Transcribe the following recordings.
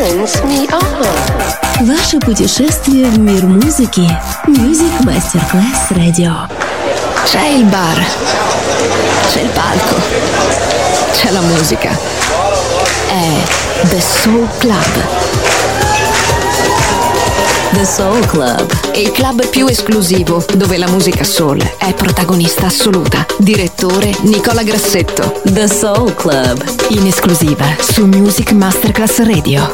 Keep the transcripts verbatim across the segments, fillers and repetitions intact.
turns me on. Ваше путешествие в мир музыки. Music Masterclass Radio. C'è il bar, c'è il palco, c'è la musica. È The Soul Club. The Soul Club. Il club più esclusivo dove la musica soul è protagonista assoluta. Direttore Nicola Grassetto. The Soul Club. In esclusiva su Music Masterclass Radio.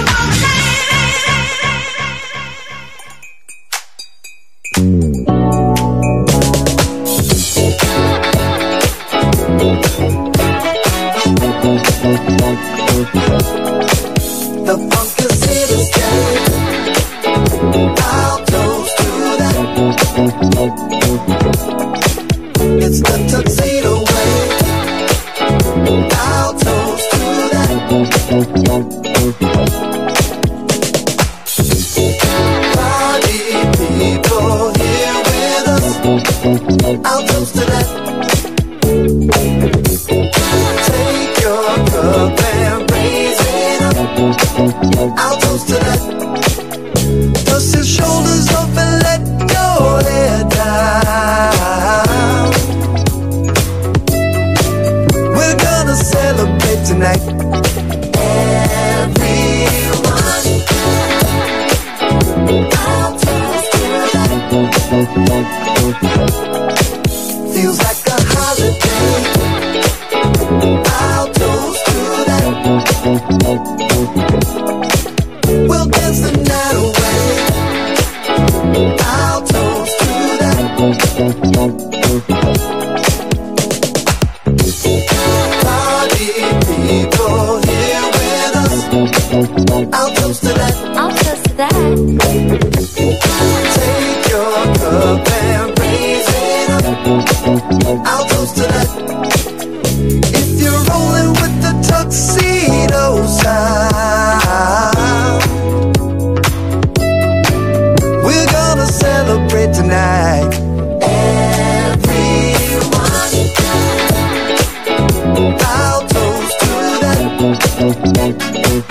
It's the tuxedo way. I'll toast to that. Party people here with us. I'll toast to that. Take your cup and raise it up. I'll toast to that. Dust your shoulders off and let your head down. We're gonna celebrate tonight. Everyone, I'll toast to that. Feels like a holiday. I'll toast to that. We'll dance the night away. I'll toast to that. Party people here with us. I'll toast to that. I'll toast to that. Take your cup and raise it up. I'll toast to that. If you're rolling with the tuxedo sound, we're gonna celebrate tonight. Everyone, I'll toast to that.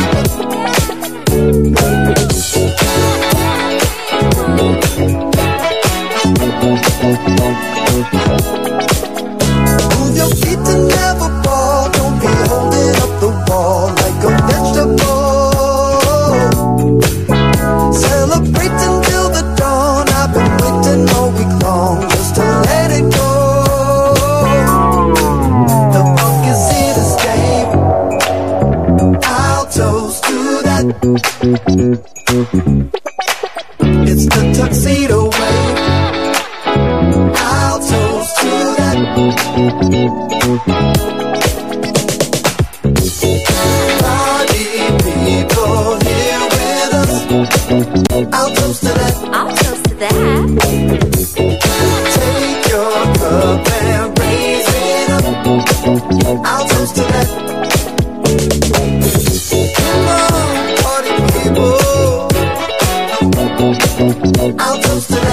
Move your feet to never fall. Don't be holding up the wall like a vegetable. Celebrate until the dawn. I've been waiting all week long just to let it go. The funk is here to stay. I'll toast to that. It's the tuxedo way. I'll toast to that. Party people here with us. I'll toast to that. I'll toast to that. Take your cup and raise it up. I'll toast to that. Come on, party people. I'll toast to that.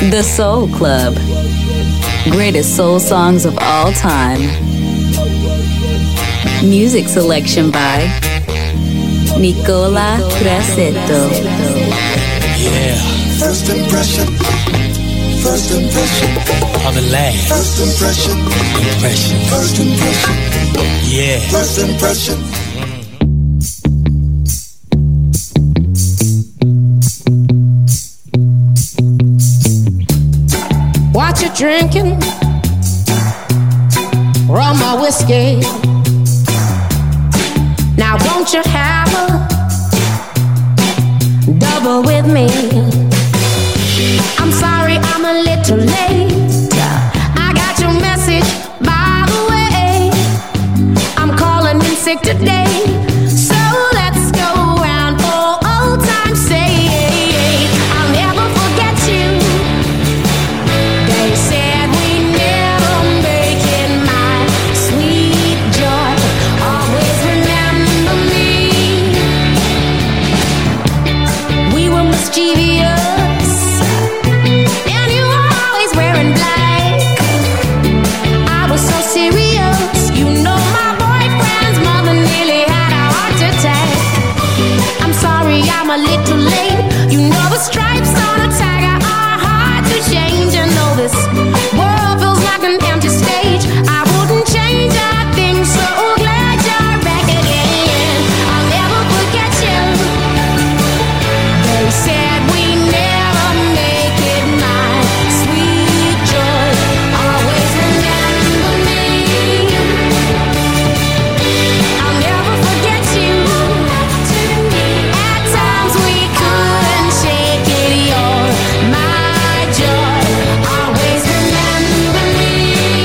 The Soul Club. Greatest soul songs of all time. Music selection by Nicola Grassetto. Yeah. First impression. First impression. On the last. First impression. Impression. First impression. Yeah. First impression. What you drinking? Rum or whiskey? Now won't you have a double with me? I'm sorry I'm a little late. I got your message by the way. I'm calling in sick today. So let's go round for old time's sake. I'll never forget you. They said we never make it, my sweet joy. Always remember me. We were mischievous, and you were always wearing black. I was so serious, you know my boyfriend's mother nearly had a heart attack. I'm sorry I'm a little late. You know the stripes on a tiger are hard to change. I know this world feels like an empty stage. I wouldn't change a thing, so glad you're back again. I'll never forget you. They said we never make it, my sweet joy. Always remember me. I'll never forget you. At times we couldn't shake it. You're my joy. Always remember me.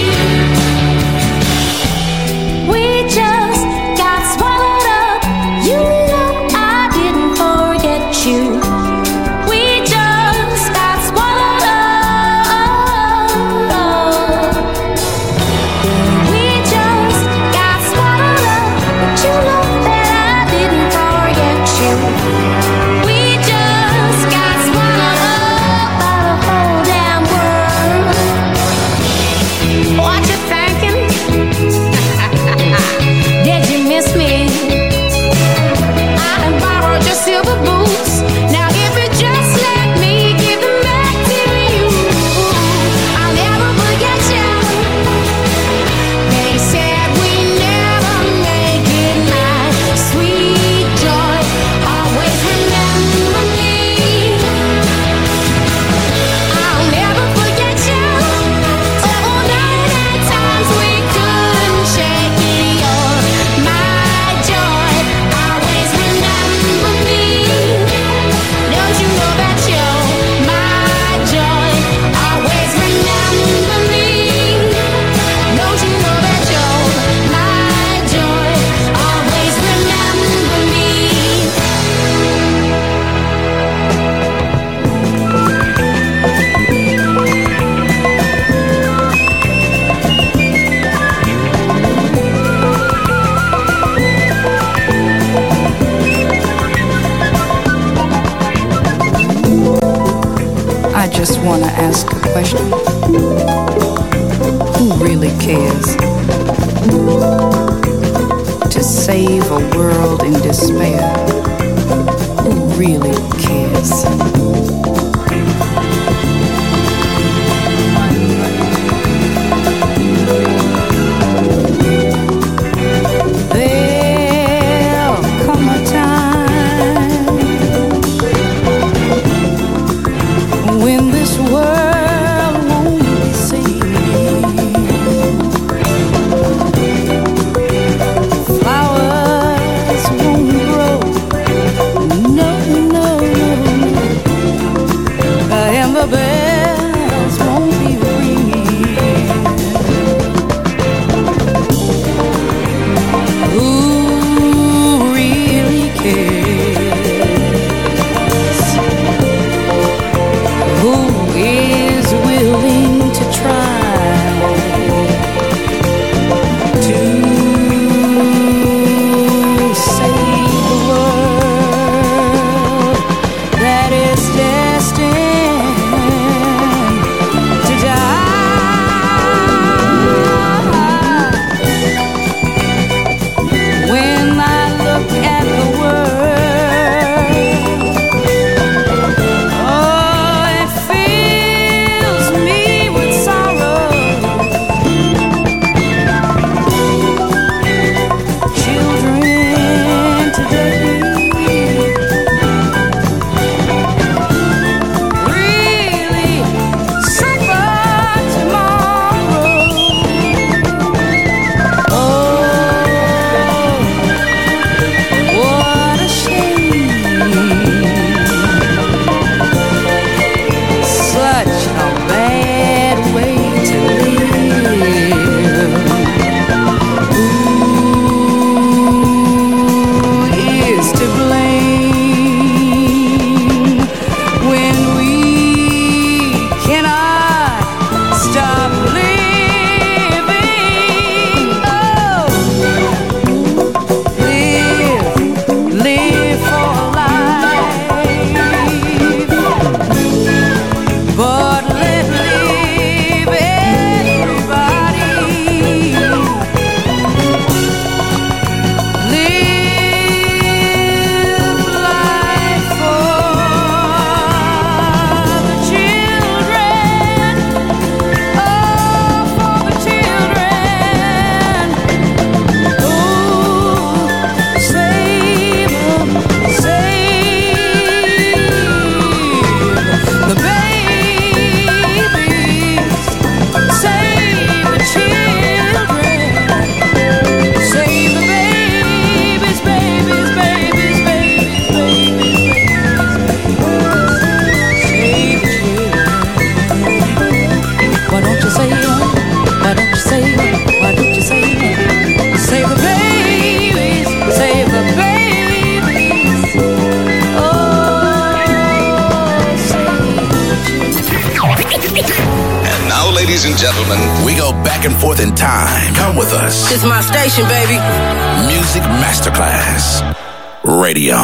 We just got swallowed up. You know I didn't forget you. We just got swallowed up. We just got swallowed up. But you know that I didn't forget you. We just got swallowed up by the whole damn world. What you thinking? Did you miss me? I done borrowed your silver boots. Now if you just let me give them back to you, I'll never forget you. They said we never make it, my sweet joy. Always remember me. I'll never forget you. Oh, night at times we couldn't shake it. You're my joy. Always remember me. Don't you know that you're my joy? Always remember me. Don't you know that you're my joy? Always remember me. I just want to ask a question. Who really cares? To save a world in despair. Who really cares? There'll come a time when this world won't be saved. Flowers won't grow. No, no, no. Ladies and gentlemen, we go back and forth in time. Come with us. It's my station, baby. Music Masterclass Radio.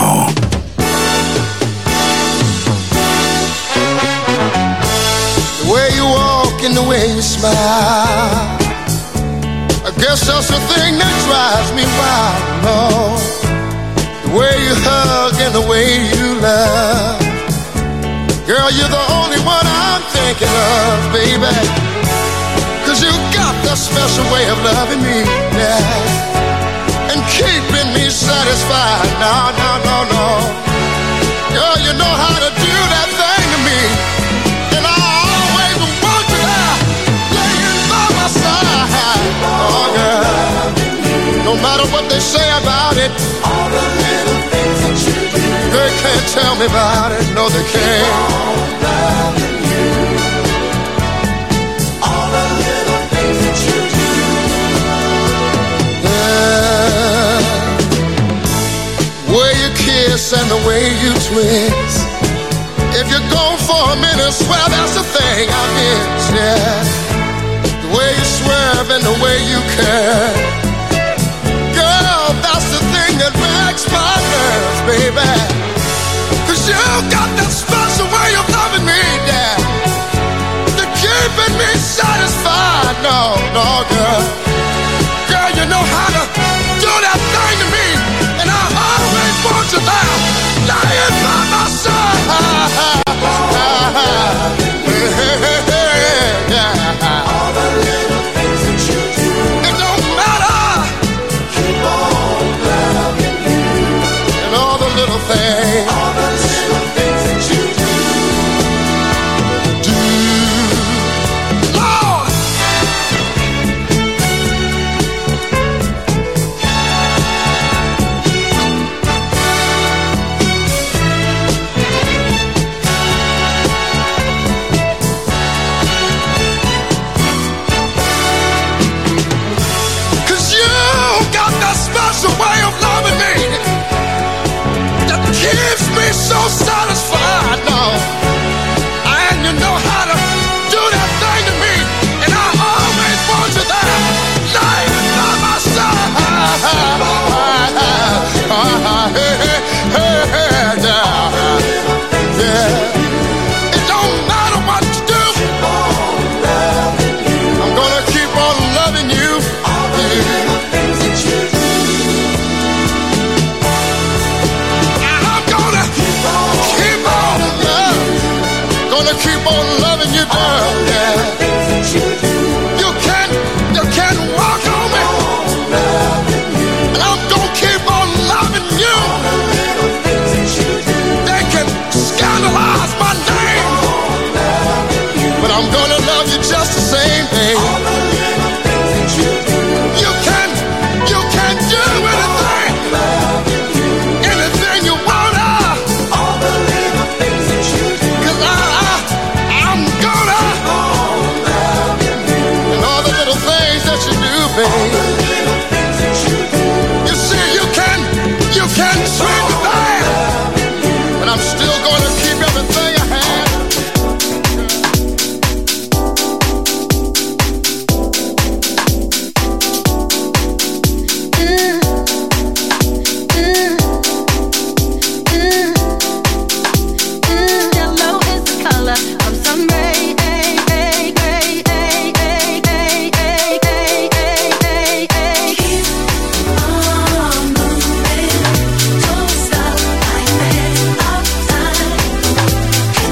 The way you walk and the way you smile, I guess that's the thing that drives me wild, Lord. The way you hug and the way you love, girl, you're the only one I'm thinking of, baby. Cause you got that special way of loving me, yeah, and keeping me satisfied. No, no, no, no. Girl, you know how to do that thing to me, and I always want you there, laying by my side. Oh, girl, no matter what they say about it, all the little things that you do, they can't tell me about it. No, they can't. All loving you, all the little things that you do. Yeah, way you kiss and the way you twist. If you're gone for a minute, swear that's the thing I miss. Yeah, the way you swerve and the way you care. Girl, that's the thing that breaks my nerves, baby. Cause you got that special way of loving me, yeah, to keeping me satisfied. No, no, girl. Girl, you know how to do that thing to me, and I always want you there, lying by my side. All the little things that you do, it don't matter. Keep on loving you, and all the little things, all the little things that you do, do, Lord. Cause you got that special way of loving me that keeps me so satisfied. No, and you know how to do that thing to me, and I always want you there, lying by my side. Hey, hey, hey, hey, yeah. Yeah. It don't matter what you do, I'm gonna keep on loving you. All the little things that you do, and I'm gonna keep on, keep on loving, gonna keep on loving you, girl. Yeah. You can, you can walk on me, and I'm gonna keep on loving you. They can scandalize my name, but I'm gonna love you just the same, babe. You can, you can do anything, anything you wanna. All the little things that you do, 'cause I, I, I'm gonna, and all the little things that you do, babe. You see, you can, you can treat me bad, but I'm still gonna keep everything I have. Yellow is the color of sun ray. Keep on moving, don't stop like that all the time.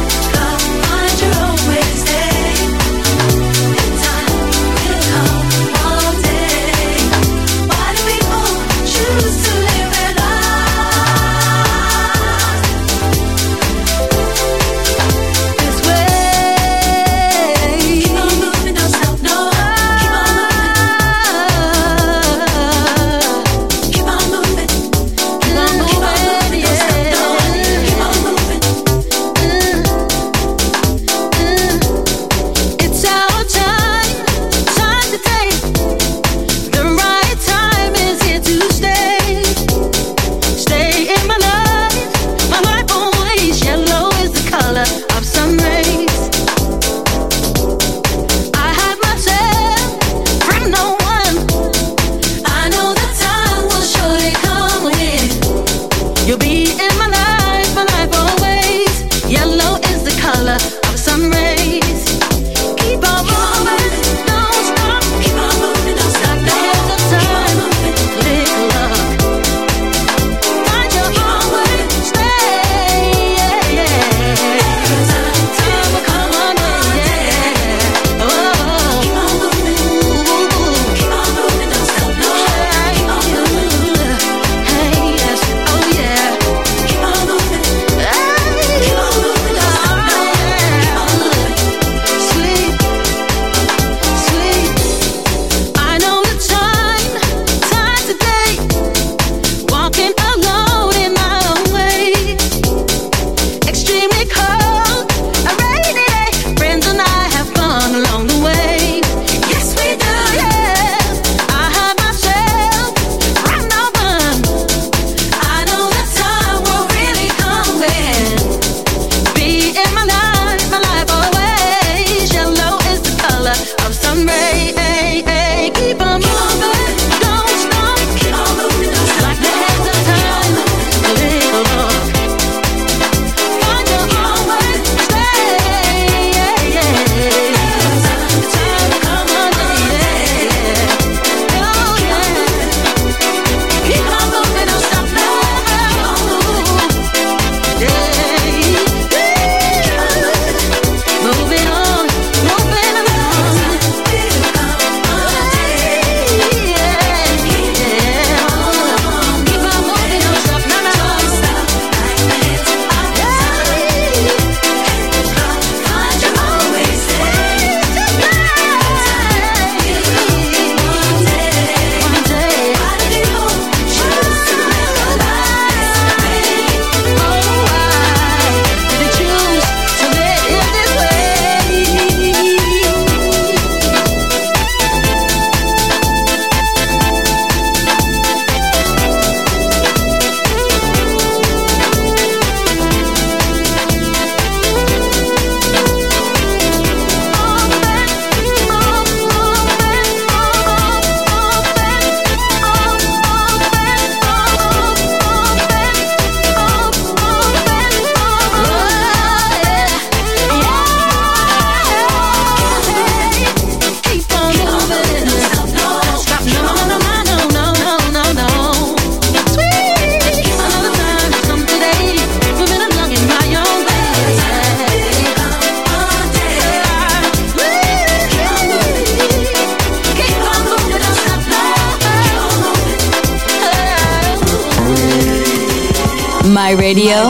My radio,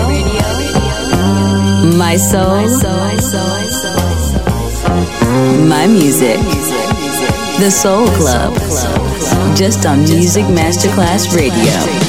my soul, my music. The Soul Club, just on Music Masterclass Radio.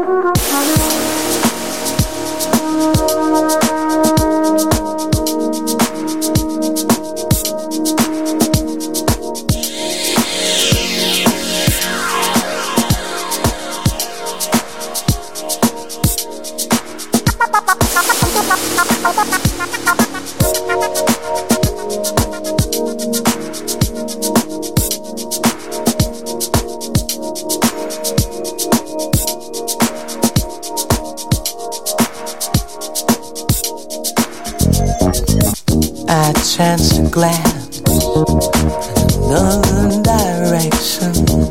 Chance to glance in another direction.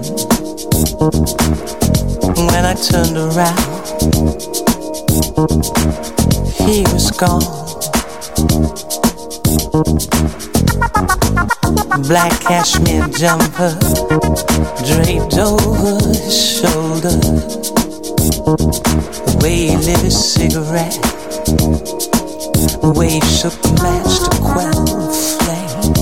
When I turned around, he was gone. Black cashmere jumper draped over his shoulder. The way he lit his cigarette, the way he shook the match to quell the flame.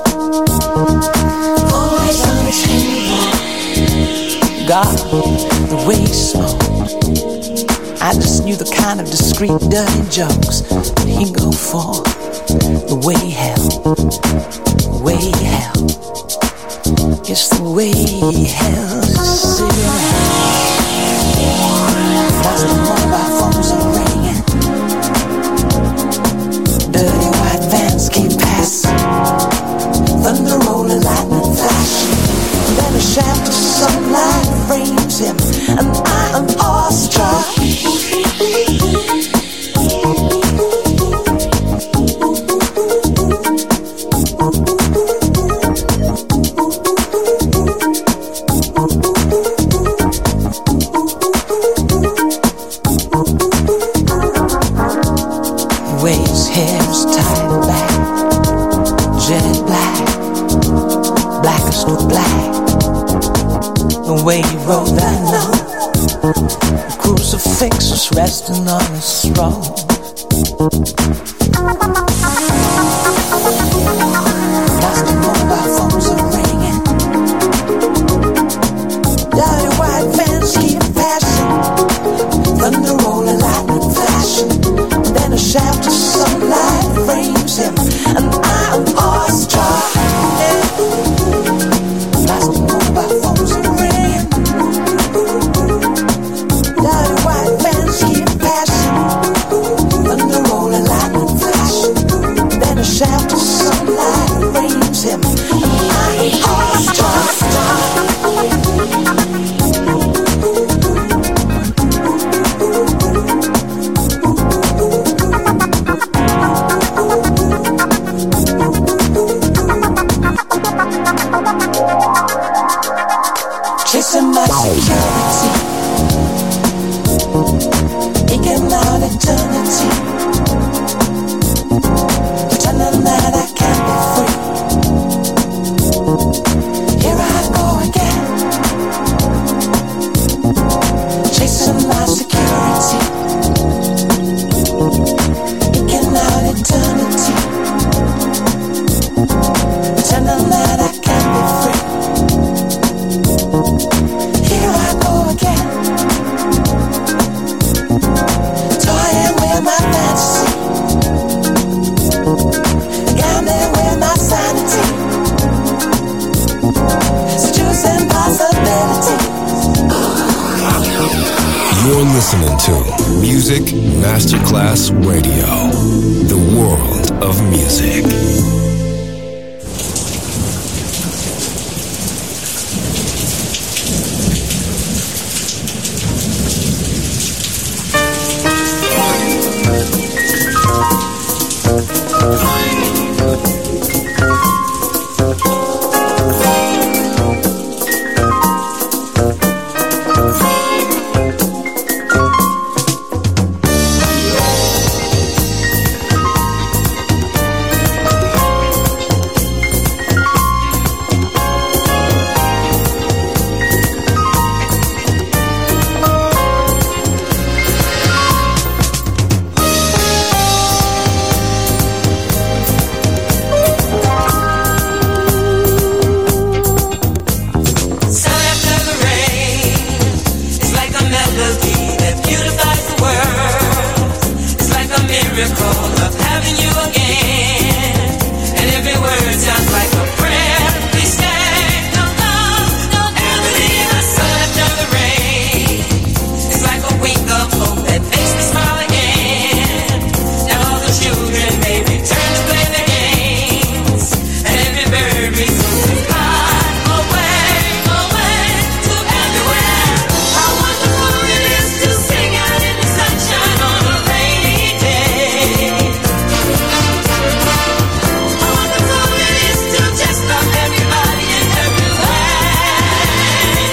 Always on his table. God, the way he smoked, I just knew the kind of discreet, dirty jokes that he'd go for. The way he held, the way he held, it's the way he held his cigarette. That's the mobile phones are ringing. Dirty white vans keep passing, thunder rolling, lightning flashing. Then a shaft of sunlight frames him, and I am awestruck. Rolled that note, the crucifix was resting on his throne. Plastic mobile phones are ringing, dirty white vans keep passing, thunder rolling, lightning flashing. Then a shaft of sunlight frames him, and I am awestruck. Plastic mobile phones are ringing. Shaft of sunlight frames him, and I am awestruck. Chasing my security, eking out eternity. That I can't be free. Here I go again, chasing my security, eking out eternity, pretending that I can't be free. Here I go again, toying with my fantasy. You're listening to Music Masterclass Radio, the world of music. miracle of having you again. And every word sounds like a prayer. Please stay, no love, don't ever leave the sun after the rain. It's like a wink of hope that makes me smile again. Now all the children may return to play their games, and every bird resumes to fly away, away to everywhere. How wonderful it is to sing out in the sunshine on a rainy day. How wonderful it is to just love everybody in every way.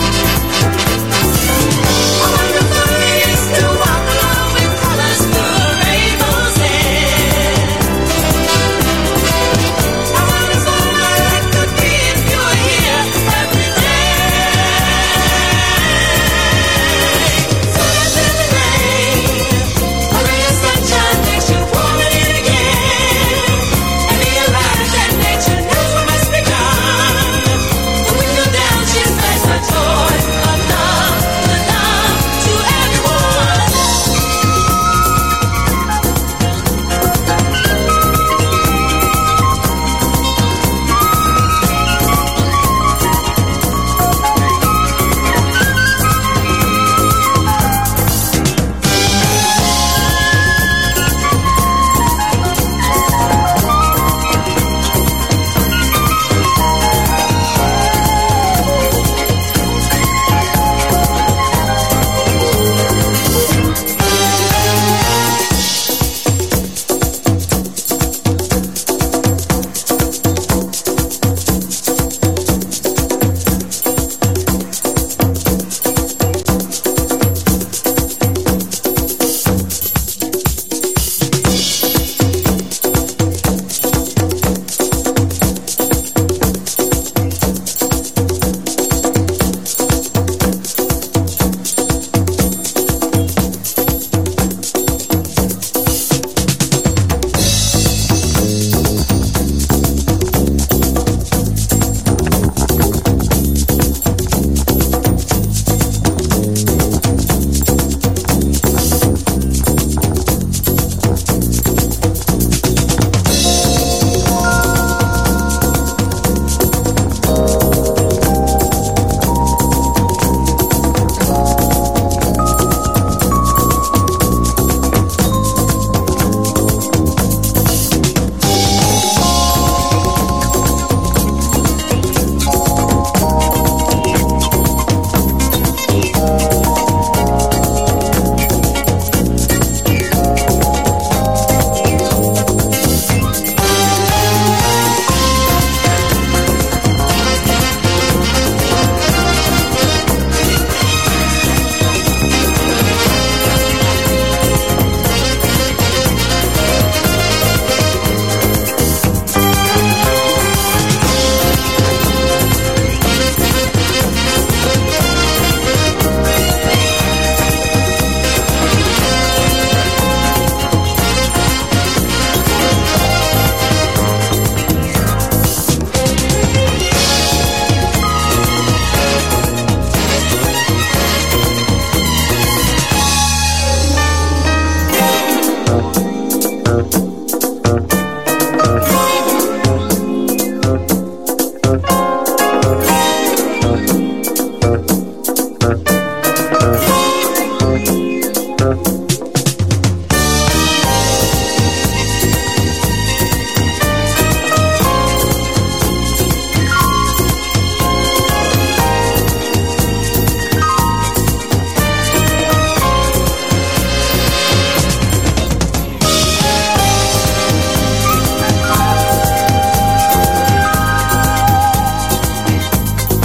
How wonderful it is to walk along with colors through a rainbow's end. How wonderful my life could be if you were here every day. So that in the rain, a ray of sunshine makes you warm it again, and realize that nature knows what must be done. The window down, she spreads her toys of love, the love to everyone.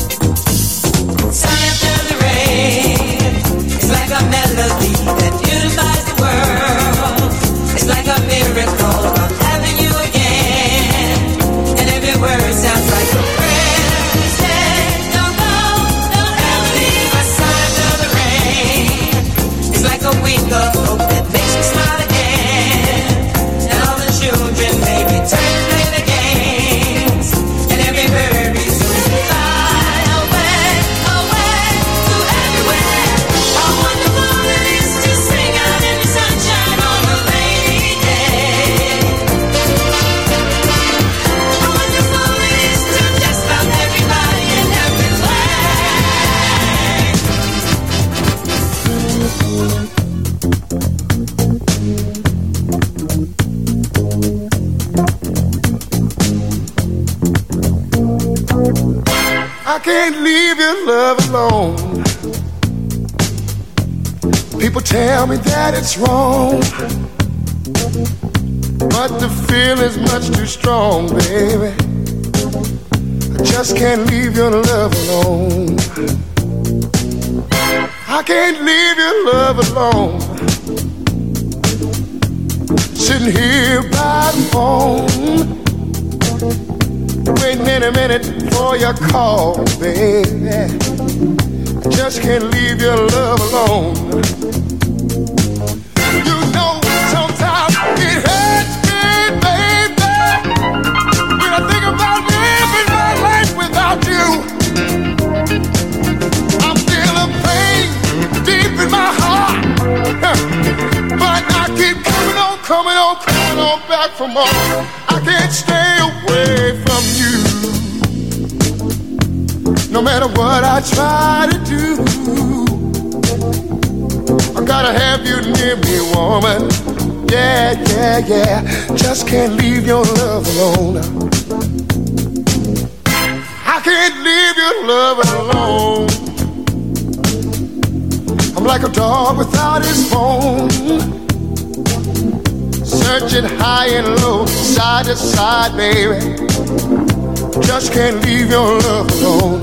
Sun after the rain, it's like a melody that beautiful can't leave your love alone. People tell me that it's wrong, but the feeling's much too strong, baby. I just can't leave your love alone. I can't leave your love alone. Sitting here by the phone, waiting in a minute for your call, baby. I just can't leave your love alone. You know sometimes it hurts me, baby, when I think about living my life without you. I'm feeling pain deep in my heart, but I keep coming on, coming on, coming on back for more. I can't stay away from you. No matter what I try to do, I gotta have you near me, woman. Yeah, yeah, yeah. Just can't leave your love alone. I can't leave your love alone. I'm like a dog without his bone, searching high and low, side to side, baby. Just can't leave your love alone.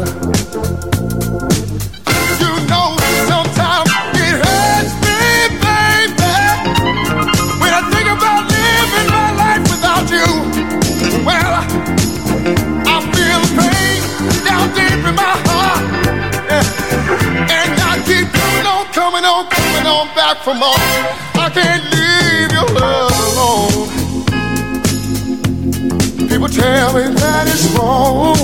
You know sometimes it hurts me, baby, when I think about living my life without you. Well, I feel the pain down deep in my heart, yeah. And I keep coming on, coming on, coming on back for more. I can't leave your love alone. People tell me that it's wrong,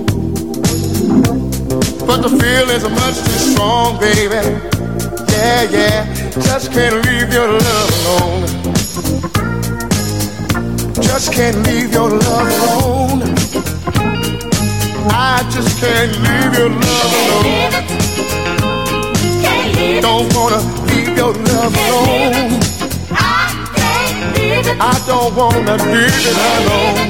but the feelings are much too strong, baby. Yeah, yeah, just can't leave your love alone. Just can't leave your love alone. I just can't leave your love alone. Don't wanna leave your love alone. I don't wanna leave it alone.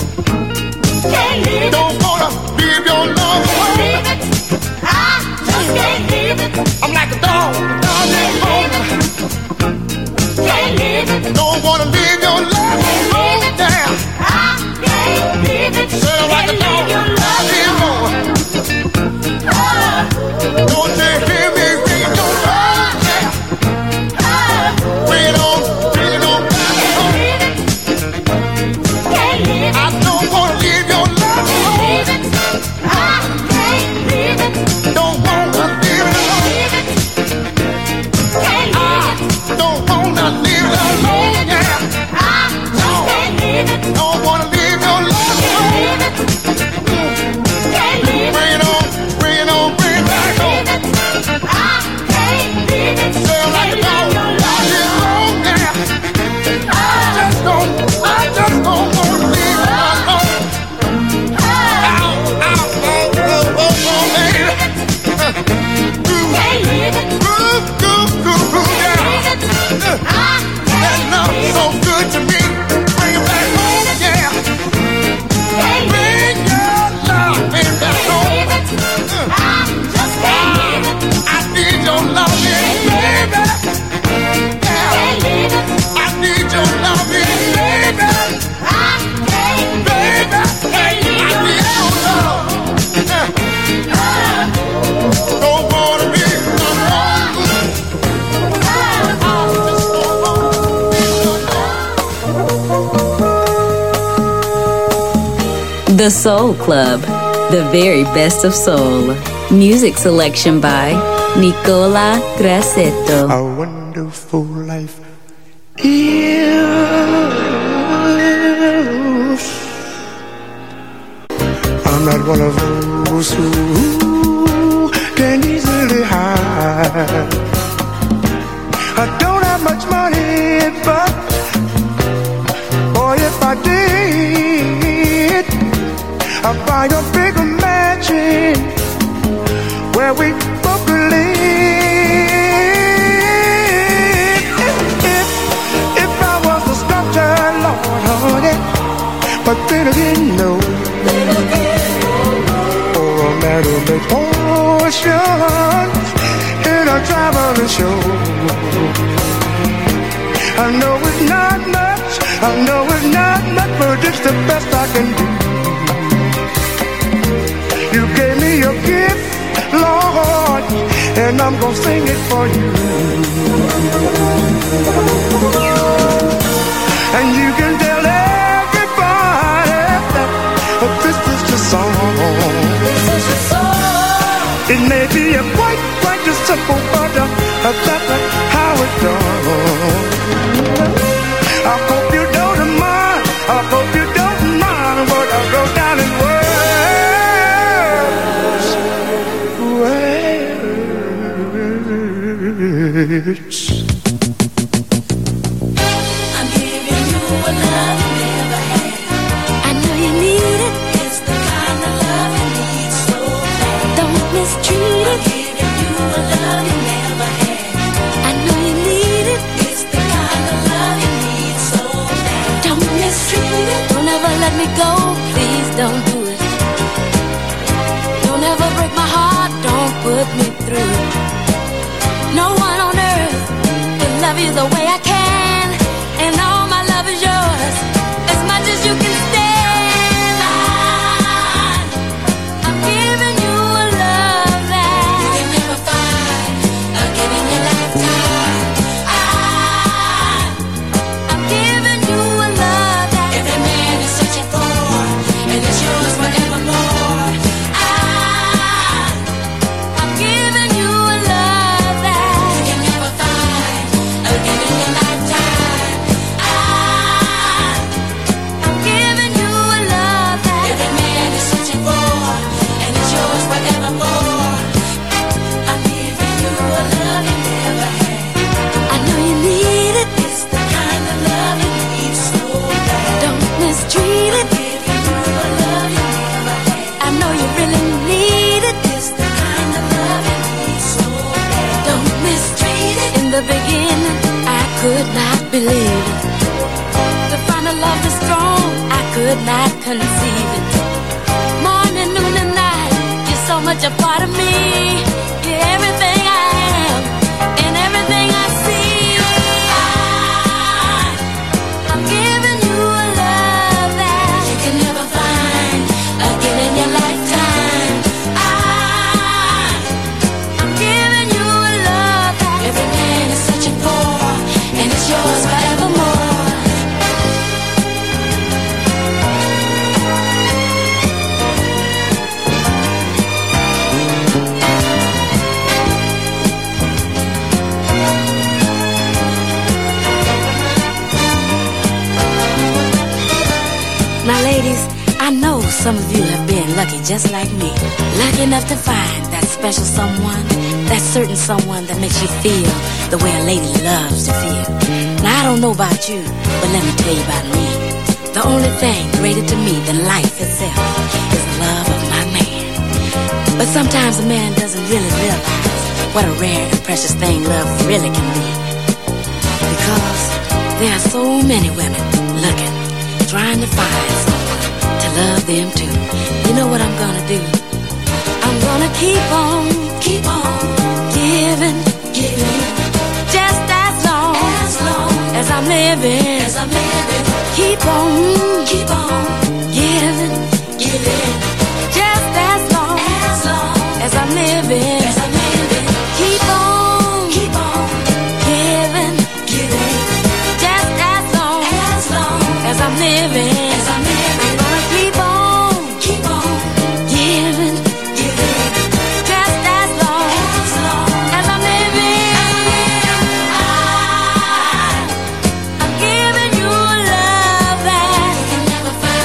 Don't wanna leave your love alone. I just can't leave it. I'm like a dog without his bone. Can't leave it. Don't wanna leave your love alone. Down. I can't leave it. Said I'm like a dog without his bone. Don't you hear me ring your phone? Bring it on, bring it on back home. I don't wanna leave your love alone. I can't leave it. Don't wanna leave it alone. I don't wanna leave it alone. Yeah. I just can't leave it. Don't wanna leave your love alone. Can't leave it. Bring it on, bring it on, bring it back home. I can't leave it. Sound like a dog out here alone. Yeah. I just don't, I just don't wanna leave it alone. Ow, ow, oh, oh, oh, oh, baby. Can't leave it. Groove, groove, groove, groove, yeah. That love so good to me. Bring it back home, yeah. Bring your love, bring it back home. I just can't leave it. I need your love, baby. Yeah. I need your love, baby. I can't, baby. I need your love. Don't wanna be alone. The Soul Club, the very best of soul. Music selection by Nicola Grassetto. A wonderful life is. I'm not one of those who can easily hide. I don't have much money, but boy, if I did, I'd buy a bigger mansion where we both could live. If, if, if I was a sculptor, Lord, honey, but then again, no. Or a matter I know it's not much, I know it's not much, but it's the best I can do. You gave me your gift, Lord, and I'm gonna sing it for you. And you can tell everybody that this is the song. This is the song. It may be a quite, quite a simple, but uh, that's how it goes. I hope you don't mind, I hope you don't mind what I wrote down in words. Words. I'm giving you a love you never had. I know you need it. It's the kind of love you need so bad. Don't mistreat it. I'm giving you a love you never had. I know you need it. It's the kind of love you need so bad. Don't mistreat it. Don't ever let me go. Please don't do it. Don't ever break my heart. Don't put me through it. No one on earth will love you the way I can, and all my love is yours, as much as you can stand. I, I'm giving you a love that you can never find again in your lifetime. I, I'm giving you a love that every man is searching for, and it's yours forevermore. I, I'm giving you a love that you can never find again in your lifetime. I, I'm giving you a love that every man is searching for, and it's yours forevermore. I'm giving you a love you never had. I know you need it. It's the kind of love you need so bad. Don't mistreat it. Giving you a love you never had. I know you really need it. It's the kind of love you need so bad. Don't mistreat it. In the beginning, I could not believe it. To find a love this strong, I could not conceive it. Morning, noon, and night, you're so much a part of me. You're everything I am, and everything I see. I, I'm giving you a love that you can never find again in your lifetime. I, I'm giving you a love that every man is searching for, and it's yours forevermore. Now, ladies, I know some of you have been lucky just like me. Lucky enough to find that special someone, that certain someone that makes you feel the way a lady loves to feel. Now, I don't know about you, but let me tell you about me. The only thing greater to me than life itself is the love of my man. But sometimes a man doesn't really realize what a rare and precious thing love really can be. Because there are so many women looking, trying to find someone to love them too. You know what I'm gonna do? I'm gonna keep on, keep on giving, giving, just as long, as long as I'm living, as I'm living. Keep on, keep on giving, giving, just as long, as long as I'm living, as I'm living. Keep on, keep on giving, giving, just as long, as long as I'm living, as I'm living. I'm gonna keep on, keep on giving, giving, just as long, as long as I'm living. I, I'm giving you love that you can never find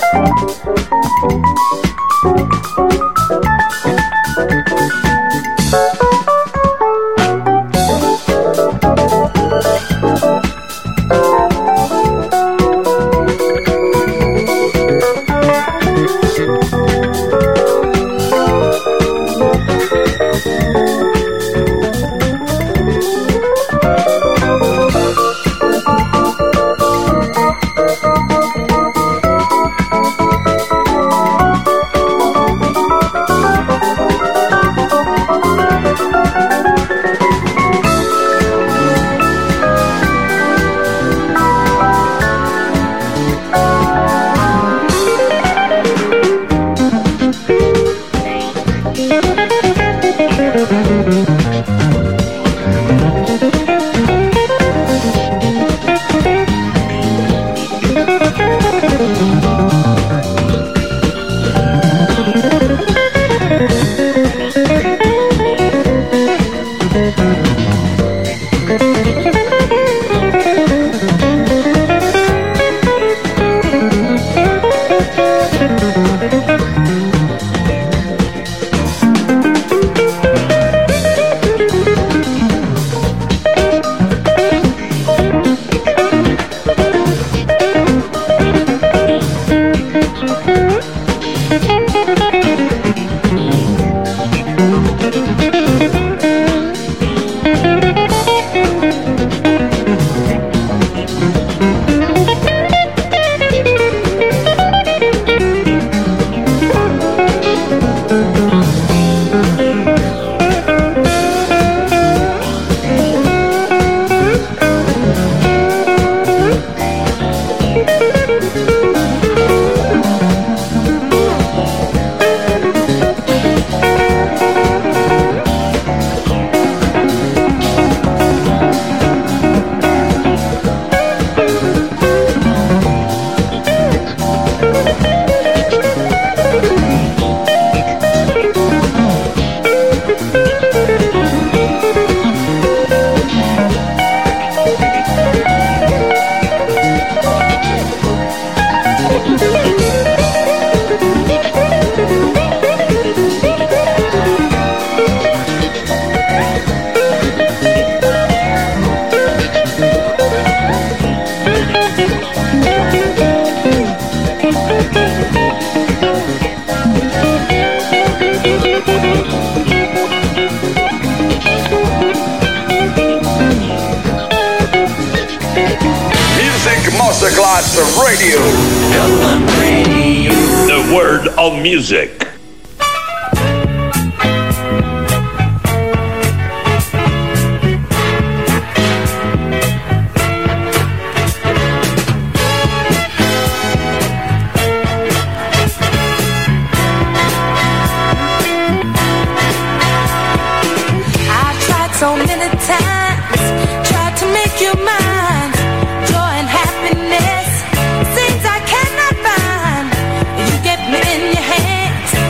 Masterclass Radio. The world of music. Things I cannot find, you get me in your hands.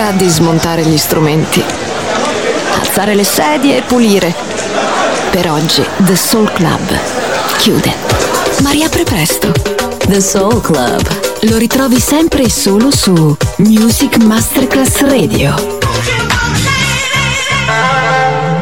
ora di smontare gli strumenti, alzare le sedie e pulire. Per oggi The Soul Club chiude, ma riapre presto. The Soul Club Lo ritrovi sempre e solo su Music Masterclass Radio.